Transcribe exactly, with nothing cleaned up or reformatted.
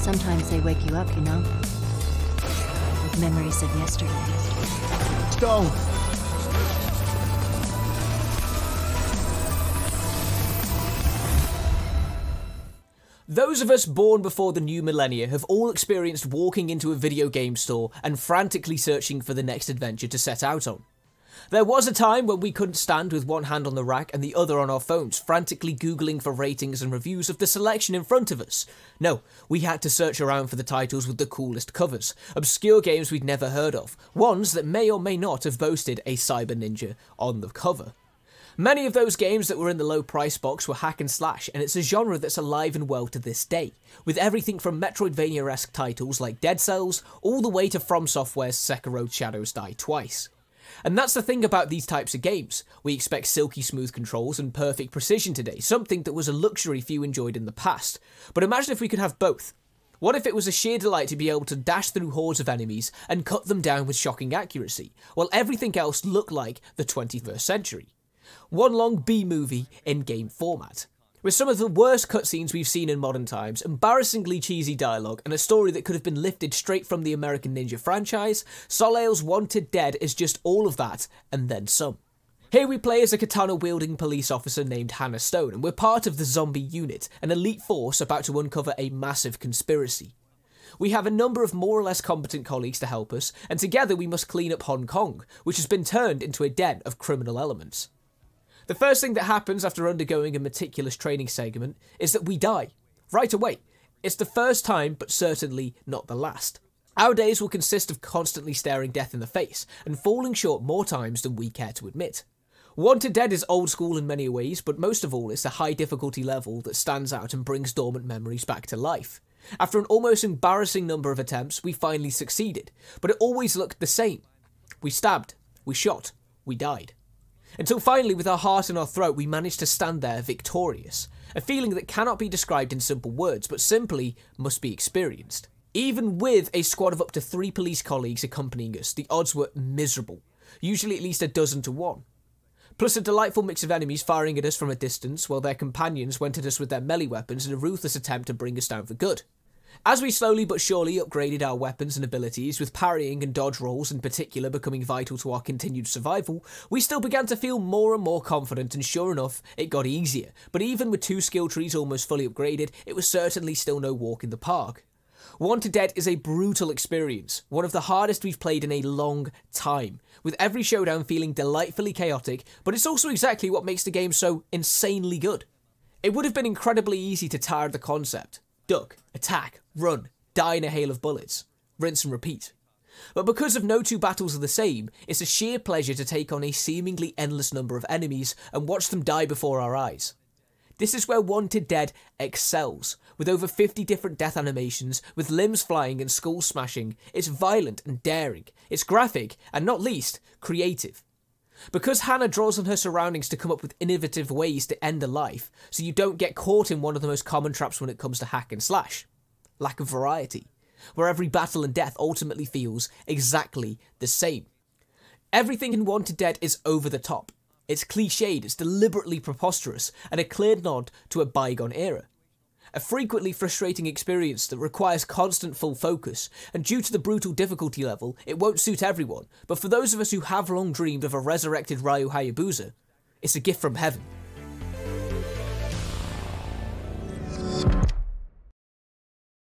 Sometimes they wake you up, you know? With memories of yesterday. Don't! Those of us born before the new millennia have all experienced walking into a video game store and frantically searching for the next adventure to set out on. There was a time when we couldn't stand with one hand on the rack and the other on our phones, frantically googling for ratings and reviews of the selection in front of us. No, we had to search around for the titles with the coolest covers, obscure games we'd never heard of, ones that may or may not have boasted a Cyber Ninja on the cover. Many of those games that were in the low price box were hack and slash, and it's a genre that's alive and well to this day, with everything from Metroidvania-esque titles like Dead Cells, all the way to From Software's Sekiro Shadows Die Twice. And that's the thing about these types of games. We expect silky smooth controls and perfect precision today, something that was a luxury few enjoyed in the past. But imagine if we could have both. What if it was a sheer delight to be able to dash through hordes of enemies and cut them down with shocking accuracy, while everything else looked like the twenty-first century? One long B-movie in game format, with some of the worst cutscenes we've seen in modern times, embarrassingly cheesy dialogue, and a story that could have been lifted straight from the American Ninja franchise. Soleil's Wanted Dead is just all of that, and then some. Here we play as a katana-wielding police officer named Hannah Stone, and we're part of the Zombie Unit, an elite force about to uncover a massive conspiracy. We have a number of more or less competent colleagues to help us, and together we must clean up Hong Kong, which has been turned into a den of criminal elements. The first thing that happens after undergoing a meticulous training segment is that we die. Right away. It's the first time, but certainly not the last. Our days will consist of constantly staring death in the face, and falling short more times than we care to admit. Wanted Dead is old school in many ways, but most of all it's the high difficulty level that stands out and brings dormant memories back to life. After an almost embarrassing number of attempts, we finally succeeded, but it always looked the same. We stabbed, we shot, we died. Until finally, with our heart in our throat, we managed to stand there victorious. A feeling that cannot be described in simple words, but simply must be experienced. Even with a squad of up to three police colleagues accompanying us, the odds were miserable. Usually at least a dozen to one. Plus a delightful mix of enemies firing at us from a distance, while their companions went at us with their melee weapons in a ruthless attempt to bring us down for good. As we slowly but surely upgraded our weapons and abilities, with parrying and dodge rolls in particular becoming vital to our continued survival, we still began to feel more and more confident, and sure enough, it got easier. But even with two skill trees almost fully upgraded, it was certainly still no walk in the park. Wanted Dead is a brutal experience, one of the hardest we've played in a long time, with every showdown feeling delightfully chaotic, but it's also exactly what makes the game so insanely good. It would have been incredibly easy to tire the concept. Duck, attack, run, die in a hail of bullets, rinse and repeat. But because of no two battles are the same, it's a sheer pleasure to take on a seemingly endless number of enemies and watch them die before our eyes. This is where Wanted Dead excels, with over fifty different death animations, with limbs flying and skulls smashing. It's violent and daring, it's graphic, and not least, creative. Because Hannah draws on her surroundings to come up with innovative ways to end a life, so you don't get caught in one of the most common traps when it comes to hack and slash. Lack of variety, where every battle and death ultimately feels exactly the same. Everything in Wanted Dead is over the top. It's cliched, it's deliberately preposterous, and a clear nod to a bygone era. A frequently frustrating experience that requires constant full focus, and due to the brutal difficulty level, it won't suit everyone, but for those of us who have long dreamed of a resurrected Ryu Hayabusa, it's a gift from heaven.